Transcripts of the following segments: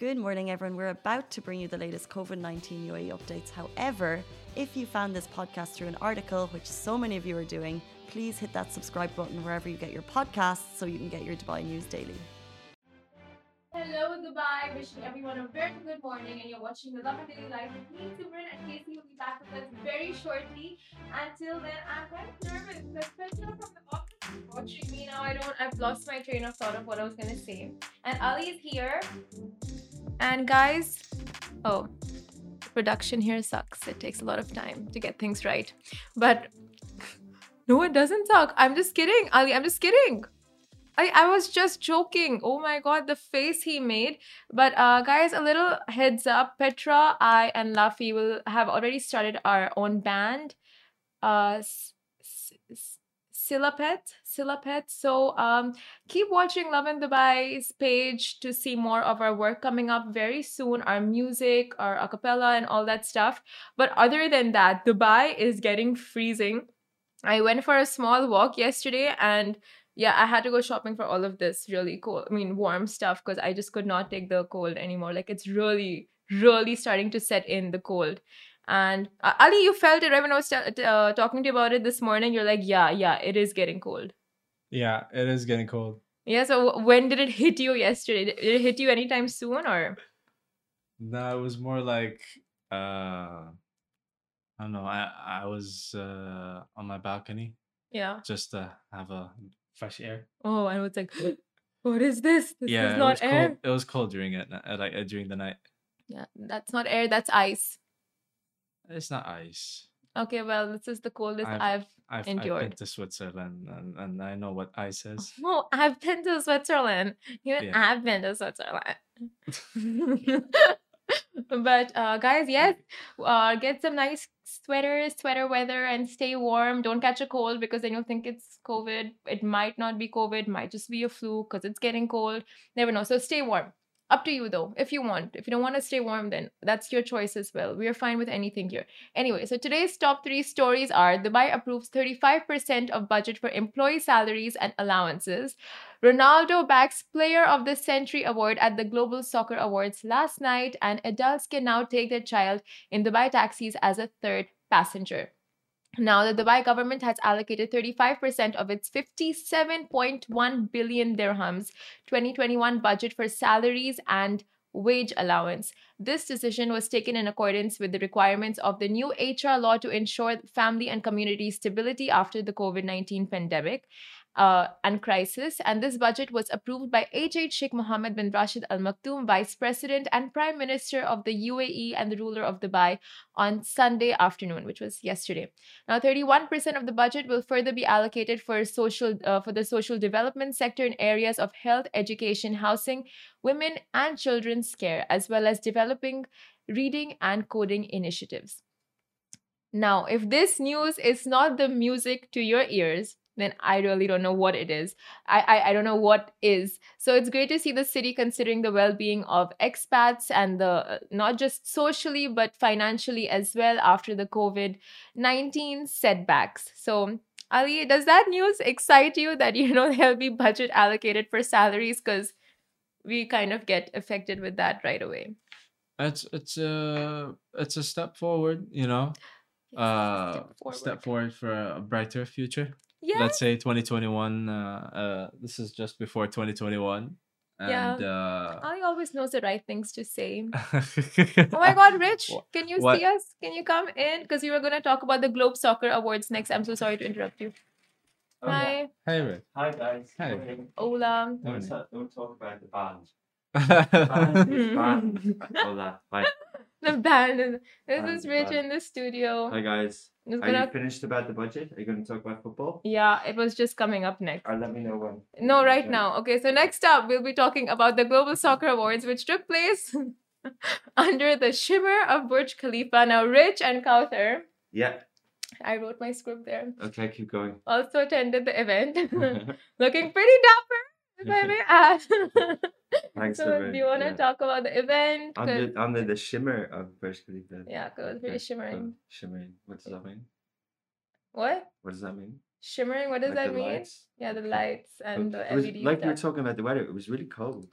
Good morning, everyone. We're about to bring you the latest COVID 19 UAE updates. However, if you found this podcast through an article, which so many of you are doing, please hit that subscribe button wherever you get your podcasts so you can get your Dubai news daily. Hello, Dubai. Wishing everyone a very good morning. And you're watching the Love and Daily Life with me, Simran, and Casey will be back with us very shortly. Until then, I'm kind of nervous. The Petra from the office is watching me now. I've lost my train of thought of what I was gonna say. And Ali is here. And guys, oh, production here sucks. It takes a lot of time to get things right. But no, it doesn't suck. I'm just kidding, Ali. I'm just kidding. I was just joking. Oh my god, the face he made. But guys, a little heads up. Petra, I, and Lafi will have already started our own band. Silapet. So keep watching Love in Dubai's page to see more of our work coming up very soon. Our music, our acapella, and all that stuff. But other than that, Dubai is getting freezing. I went for a small walk yesterday and yeah, I had to go shopping for all of this really cool, warm stuff because I just could not take the cold anymore. Like it's really, really starting to set in the cold. And Ali, you felt it right when I was talking to you about it this morning. You're like, yeah, it is getting cold. Yeah, it is getting cold. Yeah, so when did it hit you yesterday? Did it hit you anytime soon or? No, it was more like I don't know. I was on my balcony Yeah. just to have a fresh air. Oh, I was like, what is this? This Yeah, is it not was air. cold. It was cold during it, during the night. Yeah, that's not air, that's ice. It's not ice. Okay, well, this is the coldest I've I've endured. been to Switzerland and I know what ice is. Oh, I've been to Switzerland. Even Yeah. I've been to Switzerland. But guys, yes, get some nice sweaters, sweater weather, and stay warm. Don't catch a cold because then you'll think it's COVID. It might not be COVID, might just be a flu because it's getting cold. Never know. So stay warm. Up to you though, if you want. If you don't want to stay warm, then that's your choice as well. We are fine with anything here. Anyway, so today's top 3 stories are: Dubai approves 35% of budget for employee salaries and allowances. Ronaldo backs Player of the Century award at the Global Soccer Awards last night, and adults can now take their child in Dubai taxis as a third passenger. Now, the Dubai government has allocated 35% of its 57.1 billion dirhams 2021 budget for salaries and wage allowance. This decision was taken in accordance with the requirements of the new HR law to ensure family and community stability after the COVID-19 pandemic and crisis. And this budget was approved by H. Sheikh Mohammed bin Rashid Al Maktoum, Vice President and Prime Minister of the UAE and the ruler of Dubai, on Sunday afternoon, which was yesterday. Now, 31% of the budget will further be allocated for the social development sector in areas of health, education, housing, women and children's care, as well as developing reading and coding initiatives. Now, if this news is not the music to your ears, then I really don't know what it is. I don't know what is. So it's great to see the city considering the well-being of expats and the not just socially but financially as well after the COVID-19 setbacks. So Ali, does that news excite you that there'll be budget allocated for salaries? Because we kind of get affected with that right away. It's a step forward, step forward for a brighter future. Yeah. Let's say 2021. This is just before 2021. And Ali always knows the right things to say. Oh my God, Rich, can you see us? Can you come in? Because you were going to talk about the Globe Soccer Awards next. I'm so sorry to interrupt you. Oh, Hi. yeah. Hey, Rick. Hi, guys. Hi. Hola. Don't talk about the band. Band. Hola. Hi. The band. This Band, is Rich band. in the studio. Hi, guys. It's Are gonna- you finished about the budget? Are you going to talk about football? Yeah, it was just coming up next. Or let me know when. No, right now. Okay, so next up, we'll be talking about the Global Soccer Awards, which took place under the shimmer of Burj Khalifa. Now, Rich and Kauthar, Yeah. I wrote my script there, Okay, keep going. also attended the event. Looking pretty dapper, if I may add. Thanks, So, Simran. do you want to Yeah. talk about the event? Under the shimmer of Burj Khalifa. Yeah, 'cause it was pretty Okay, shimmering. Shimmering. What does that mean? What? What does that mean? Shimmering? What does Like that the mean? lights? Yeah, the Okay. lights and the It was LED like we were stuff. talking about the weather. It was really cold.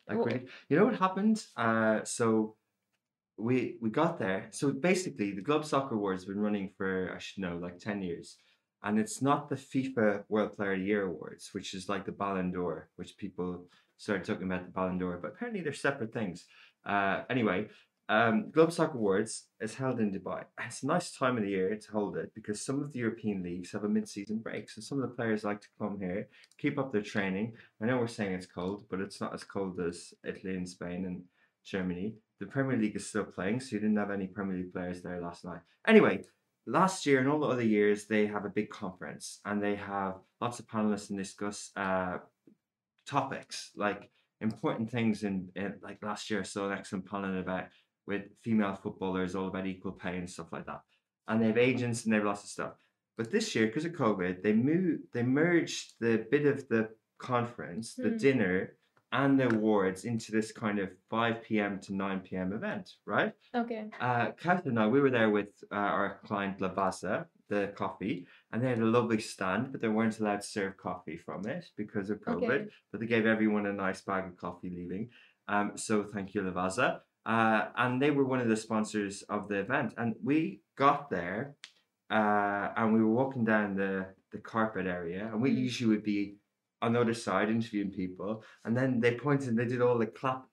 Like Oh, really, you know what happened? So we got there. So basically, the Globe Soccer Awards have been running for, I should know, like 10 years, and it's not the FIFA World Player of the Year Awards, which is like the Ballon d'Or, which people started talking about the Ballon d'Or, but apparently they're separate things. Anyway, Globe Soccer Awards is held in Dubai. It's a nice time of the year to hold it because some of the European leagues have a mid-season break, so some of the players like to come here, keep up their training. I know we're saying it's cold, but it's not as cold as Italy and Spain and Germany. The Premier League is still playing, so you didn't have any Premier League players there last night. Anyway, last year and all the other years, they have a big conference and they have lots of panelists and discuss topics like important things in like last year I saw an excellent panel about with female footballers all about equal pay and stuff like that. And they have agents and they have lots of stuff. But this year, because of COVID, they merged the bit of the conference, the dinner, and the awards into this kind of 5 p.m. to 9 p.m. event, right? okay. Kath and I, we were there with our client Lavazza, the coffee, and they had a lovely stand, but they weren't allowed to serve coffee from it because of COVID. Okay. But they gave everyone a nice bag of coffee leaving. So thank you, Lavazza. And they were one of the sponsors of the event. And we got there and we were walking down the carpet area, and we usually would be on the other side interviewing people, and then they pointed and they did all the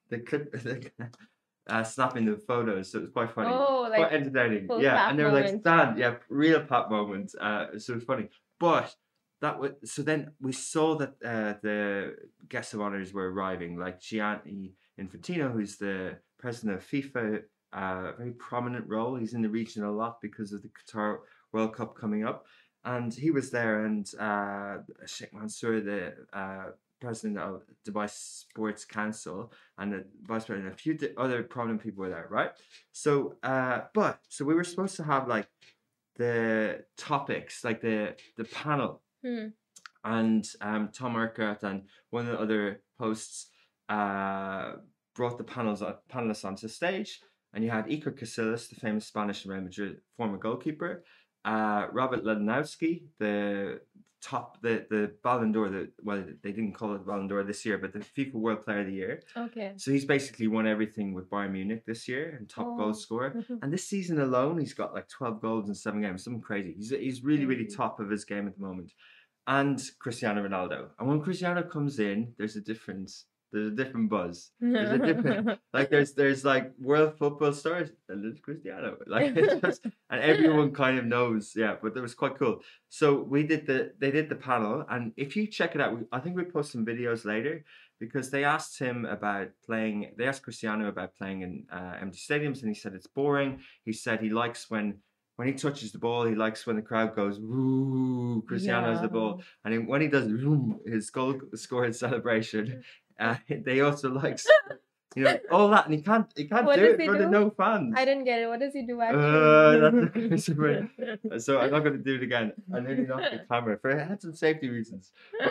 snapping the photos, so it was quite funny. Oh, Quite like entertaining. full Yeah, clap and they were like, moment. stand, yeah, real pop moment. So it was funny. But that was so then we saw that the guests of honors were arriving, like Gianni Infantino, who's the president of FIFA, very prominent role. He's in the region a lot because of the Qatar World Cup coming up. And he was there, and Sheikh Mansour, the president of Dubai Sports Council, and the vice president, a few other prominent people were there, right? So, so we were supposed to have like the topics, like the panel, and Tom Urquhart and one of the other hosts brought the panelists onto stage, and you had Iker Casillas, the famous Spanish Real Madrid former goalkeeper, Robert Lewandowski, the Ballon d'Or, well, they didn't call it Ballon d'Or this year, but the FIFA World Player of the Year. Okay. So he's basically won everything with Bayern Munich this year and top goal scorer. And this season alone, he's got like 12 goals in 7 games, something crazy. He's really, really top of his game at the moment. And Cristiano Ronaldo. And when Cristiano comes in, there's a different buzz. There's a different there's like world football stars and there's Cristiano. Like it's just, and everyone kind of knows, yeah, but that was quite cool. So they did the panel, and if you check it out, I think we post some videos later, because they asked Cristiano about playing in empty stadiums, and he said it's boring. He said he likes when he touches the ball, he likes when the crowd goes, "Woo!" Cristiano has the ball, and when he does his goal scoring celebration, they also like, all that, and he can't What do does it he for the do? no fans. I didn't get it. What does he do actually? That's a so I'm not going to do it again. I nearly knocked the camera for health and safety reasons.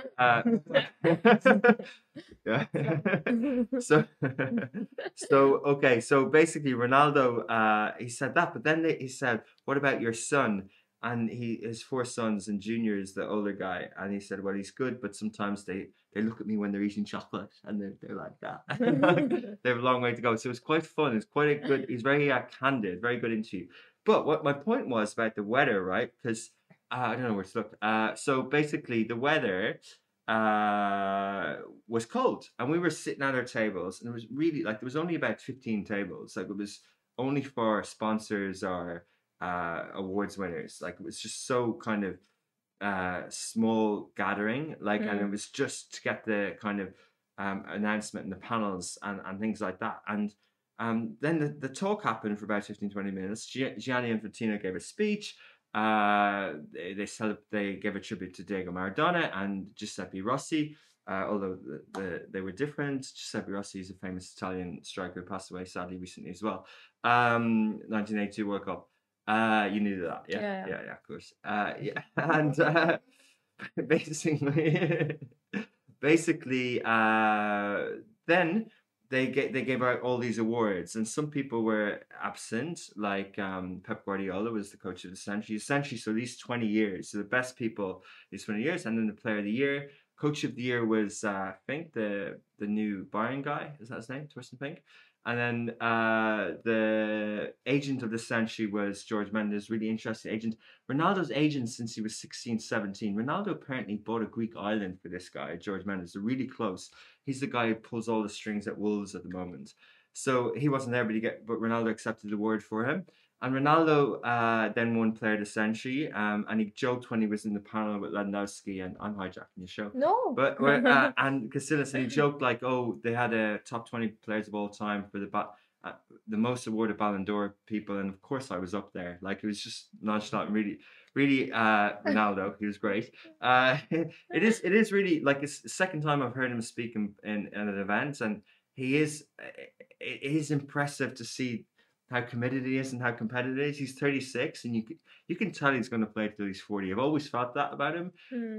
Yeah. So okay. So basically, Ronaldo, he said that, but then he said, "What about your son?" And his 4 sons, and Junior is the older guy, and he said, "Well, he's good, but sometimes they look at me when they're eating chocolate, and they're like that. They have a long way to go." So it's quite fun. It's quite a good. He's very candid, very good interview. But what my point was about the weather, right? Because I don't know where to look. So basically, the weather was cold, and we were sitting at our tables, and it was really like there was only about 15 tables. Like it was only for sponsors or awards winners. Like it was just so kind of small gathering, like, and it was just to get the kind of announcement and the panels and things like that. And then the talk happened for about 15-20 minutes. Gianni Infantino gave a speech. They gave a tribute to Diego Maradona and Giuseppe Rossi, although they were different. Giuseppe Rossi is a famous Italian striker who passed away sadly recently as well. 1982 World Cup. You knew that, yeah, of course. Yeah, and basically, then they gave out all these awards, and some people were absent, like Pep Guardiola was the coach of the century, so these 20 years, so the best people these 20 years, and then the player of the year. Coach of the year was Fink, the new Bayern guy. Is that his name? Torsten Fink. And then the agent of the century was George Mendes, really interesting agent. Ronaldo's agent since he was 16, 17. Ronaldo apparently bought a Greek island for this guy, George Mendes. They're really close. He's the guy who pulls all the strings at Wolves at the moment. So he wasn't there, but Ronaldo accepted the award for him. And Ronaldo then won Player of the Century, and he joked when he was in the panel with Lewandowski, and I'm hijacking your show. No. But and Casillas, and he joked like, oh, they had a top 20 players of all time for the most awarded Ballon d'Or people, and of course I was up there. Like, it was just nonchalant, really Ronaldo. He was great. It is really like it's the second time I've heard him speak in an event, and it is impressive to see how committed he is and how competitive he is. He's 36, and you can tell he's going to play till he's 40. I've always felt that about him.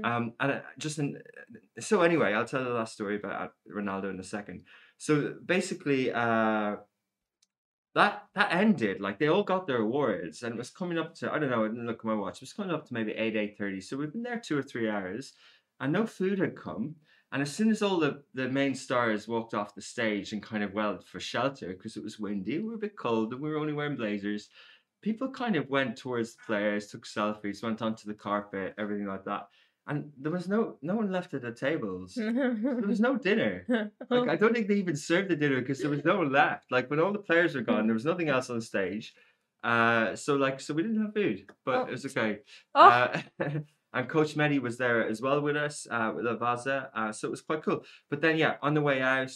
So anyway, I'll tell the last story about Ronaldo in a second. So basically, that ended. Like, they all got their awards, and it was coming up to, I don't know, I didn't look at my watch. It was coming up to maybe 8:30. So we've been there 2 or 3 hours, and no food had come. And as soon as all the main stars walked off the stage and kind of went for shelter because it was windy, we were a bit cold, and we were only wearing blazers, people kind of went towards the players, took selfies, went onto the carpet, everything like that. And there was no one left at the tables. There was no dinner. Like, I don't think they even served the dinner because there was no one left. Like, when all the players were gone, there was nothing else on stage. So we didn't have food, but it was okay. And Coach Mehdi was there as well with us, with Avaza. So it was quite cool. But then, yeah, on the way out,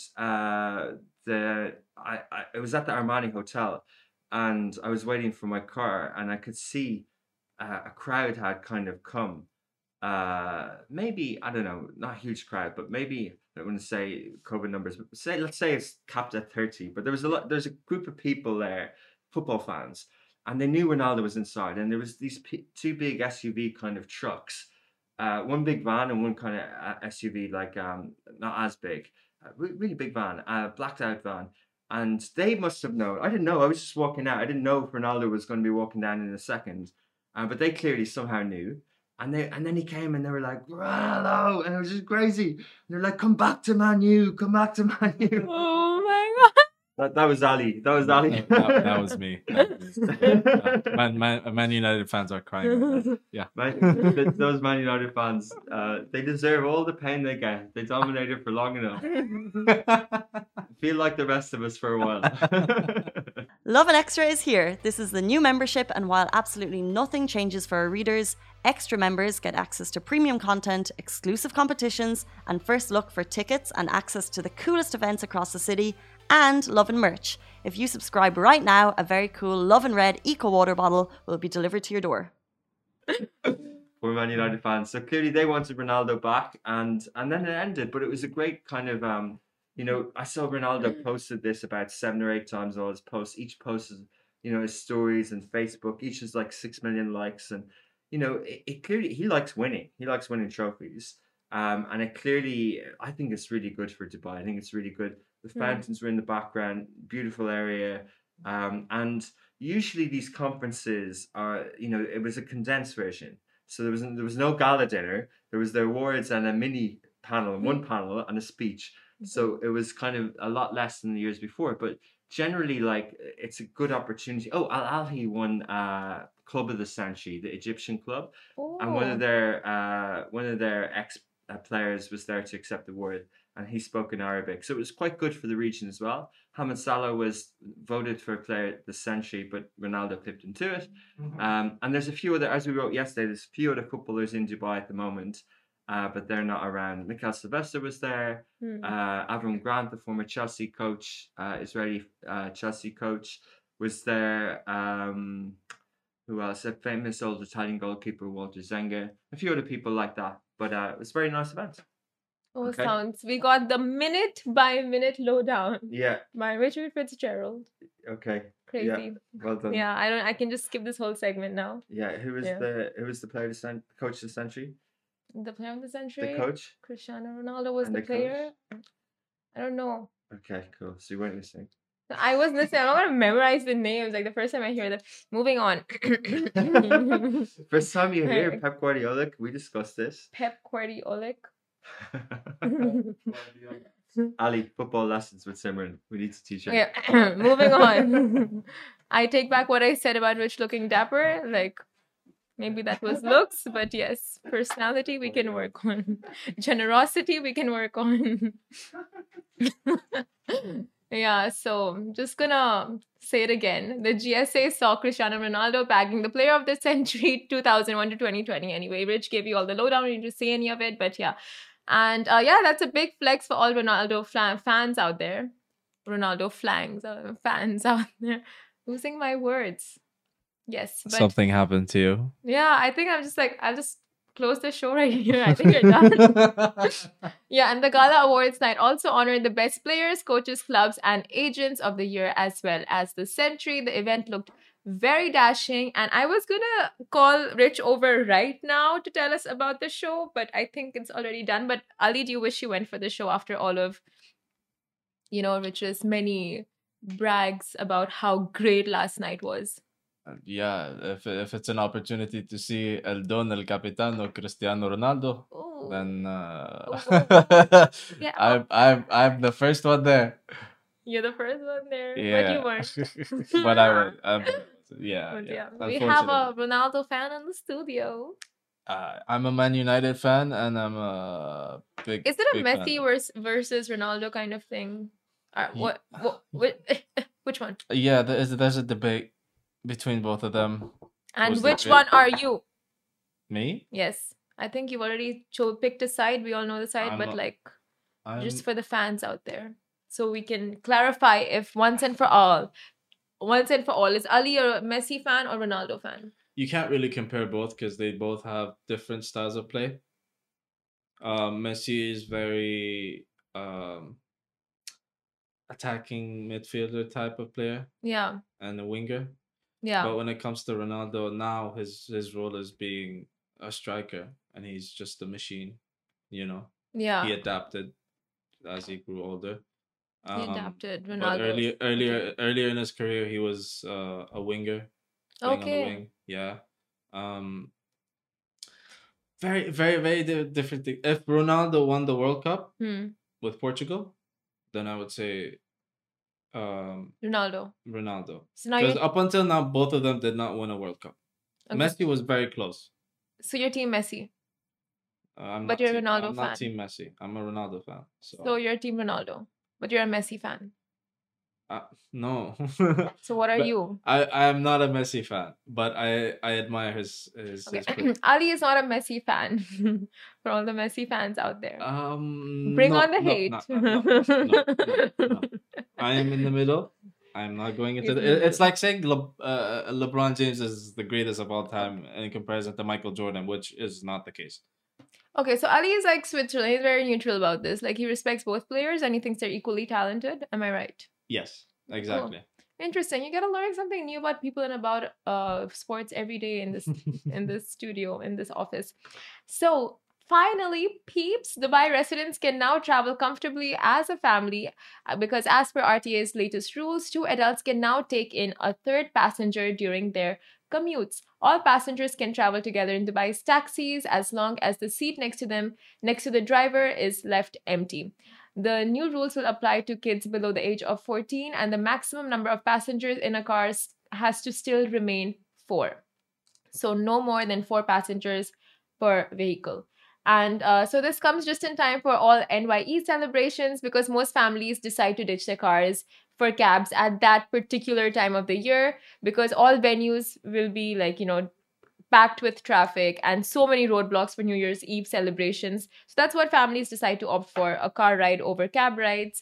it was at the Armani Hotel, and I was waiting for my car, and I could see a crowd had kind of come. Maybe, I don't know, not a huge crowd, but maybe, I don't want to say COVID numbers, but let's say it's capped at 30. But there's a group of people there, football fans. And they knew Ronaldo was inside, and there was these 2 big SUV kind of trucks, one big van and one kind of SUV, like not as big, really big van, blacked out van. And they must have known. I didn't know. I was just walking out. I didn't know if Ronaldo was going to be walking down in a second, but they clearly somehow knew. And then he came, and they were like, Ronaldo, and it was just crazy. And they're like, come back to Man U, come back to Man U. Oh my God. That was Ali. That was Ali. That was me. Man United fans are crying. Yeah. Those Man United fans, they deserve all the pain they get. They dominated for long enough. Feel like the rest of us for a while. Lovin Extra is here. This is the new membership, and while absolutely nothing changes for our readers, extra members get access to premium content, exclusive competitions, and first look for tickets and access to the coolest events across the city, and Lovin merch. If you subscribe right now, a very cool Lovin Red Eco Water bottle will be delivered to your door. We're Man United fans. So clearly they wanted Ronaldo back, and then it ended. But it was a great kind of, I saw Ronaldo posted this about 7 or 8 times, all his posts. Each post is, his stories and Facebook. Each is like 6 million likes. And, it clearly, he likes winning. He likes winning trophies. And it clearly, I think it's really good for Dubai. I think it's really good. The fountains were in the background, beautiful area. And usually these conferences are, it was a condensed version. So there was no gala dinner. There was the awards and a mini panel, one panel and a speech. So it was kind of a lot less than the years before. But generally, like, it's a good opportunity. Oh, Al Ahly won Club of the Century, the Egyptian club. Oh. And one of their ex players was there to accept the award, and he spoke in Arabic, so it was quite good for the region as well. Mohamed Salah was voted for Player of the Century, but Ronaldo clipped into it. And there's a few other, as we wrote yesterday, there's a few other footballers in Dubai at the moment, but they're not around. Mikel Sylvester was there. Avram Grant, the former Chelsea coach, Israeli Chelsea coach, was there. Who else? A famous old Italian goalkeeper, Walter Zenga. A few other people like that. But it was a very nice event. Oh, okay. We got the minute by minute lowdown. Yeah. By Richard Fitzgerald. Okay. Crazy. Yeah. Well done. Yeah, I can just skip this whole segment now. Yeah. Who was the player of coach of the century? The player of the century. The coach. Cristiano Ronaldo was the player. Coach? I don't know. Okay, cool. So you weren't listening. I was listening. I'm not gonna memorize the names. Like the first time I hear them. Moving on. First time you hear Pep Guardiola, we discussed this. Pep Guardiola. Ali, football lessons with Simran. We need to teach her. Yeah, moving on. I take back what I said about Rich looking dapper. Like, maybe that was looks, but yes, personality we can work on. Generosity we can work on. Yeah, so I'm just gonna say it again. The GSA saw Cristiano Ronaldo bagging the player of the century 2001 to 2020. Anyway, Rich gave you all the lowdown. You didn't say any of it, but yeah. And yeah, that's a big flex for all Ronaldo fans out there. Ronaldo fans out there. Losing my words. Yes, but Something happened to you. yeah, I think I'll just close the show right here. I think you're done. Yeah, and the Gala Awards night also honored the best players, coaches, clubs, and agents of the year as well as the century. The event looked very dashing, and I was gonna call Rich over right now to tell us about the show, but I think it's already done. But Ali, do you wish you went for the show after all of, Rich's many brags about how great last night was? Yeah, if it's an opportunity to see El Don El Capitano Cristiano Ronaldo, Ooh. then Yeah. I'm the first one there. You're the first one there, but Yeah, you weren't. but I would. Yeah, But yeah. we have a Unfortunately, Ronaldo fan in the studio. I'm a Man United fan, and I'm a big. Is it a big Messi fan. versus Ronaldo kind of thing? Ye- Which one? Yeah, there's a debate between both of them. And Who's the which great- one are you? Me? Yes, I think you've already picked a side. We all know the side, I'm but not- like I'm, just for the fans out there, so we can clarify if once and for all, is Ali a Messi fan or Ronaldo fan? you can't really compare both because they both have different styles of play. Messi is very attacking midfielder type of player Yeah, and a winger. yeah, But when it comes to Ronaldo, now his role is being a striker, and he's just a machine. He yeah. adapted as he grew older. He adapted. But Ronaldo. earlier in his career, he was a winger, playing on the Okay. wing. Yeah. Very, very, very different thing. If Ronaldo won the World Cup with Portugal, then I would say Ronaldo. Ronaldo. So now Because you're up until now, both of them did not win a World Cup. okay. Messi was very close. So you're team Messi. I'm But not you're a team, Ronaldo I'm fan. not Team Messi. I'm a Ronaldo fan. So you're team Ronaldo, but you're a Messi fan. No. So what are But you? I'm not a Messi fan, but I admire his Okay. play. Ali is not a Messi fan. For all the Messi fans out there, bring No, on the no, hate. no. I am in the middle. I'm not going into He's in the it's like saying LeBron James is the greatest of all time in comparison to Michael Jordan, which is not the case. Okay, so Ali is like Switzerland. He's very neutral about this. Like he respects both players and he thinks they're equally talented. Am I right? Yes, exactly. Interesting. You gotta learn something new about people and about sports every day in this studio, in this office. So finally, peeps, Dubai residents can now travel comfortably as a family because as per RTA's latest rules, 2 adults can now take in a third passenger during their commutes. All passengers can travel together in Dubai's taxis as long as the seat next to the driver is left empty. The new rules will apply to kids below the age of 14, and the maximum number of passengers in a car has to still remain 4. So no more than 4 passengers per vehicle. And so this comes just in time for all NYE celebrations because most families decide to ditch their cars for cabs at that particular time of the year because all venues will be packed with traffic and so many roadblocks for New Year's Eve celebrations. So that's what families decide to opt for, a cab ride over car rides.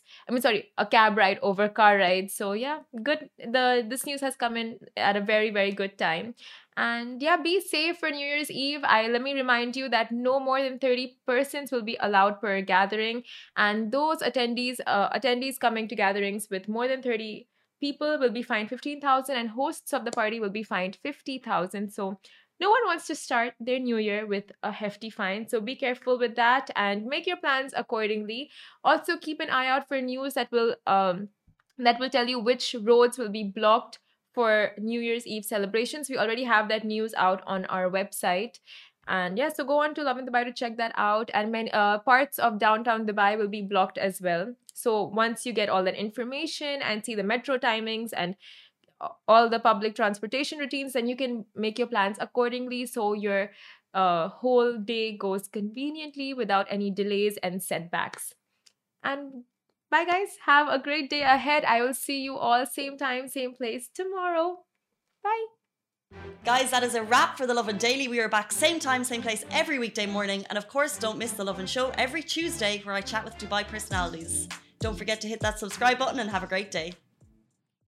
So yeah, good. This news has come in at a very, very good time. And yeah, be safe for New Year's Eve. Let me remind you that no more than 30 persons will be allowed per gathering. And those attendees coming to gatherings with more than 30 people will be fined 15,000 and hosts of the party will be fined 50,000. So no one wants to start their new year with a hefty fine, so be careful with that and make your plans accordingly. Also, keep an eye out for news that will tell you which roads will be blocked for New Year's Eve celebrations. We already have that news out on our website. And yeah, so go on to Lovin Dubai to check that out. And many parts of downtown Dubai will be blocked as well. So once you get all that information and see the metro timings and all the public transportation routines, then you can make your plans accordingly so your whole day goes conveniently without any delays and setbacks. And bye, guys. Have a great day ahead. I will see you all same time, same place tomorrow. Bye. Guys, that is a wrap for the Lovin Daily. We are back same time, same place every weekday morning. And of course, don't miss the Lovin Show every Tuesday where I chat with Dubai personalities. Don't forget to hit that subscribe button and have a great day.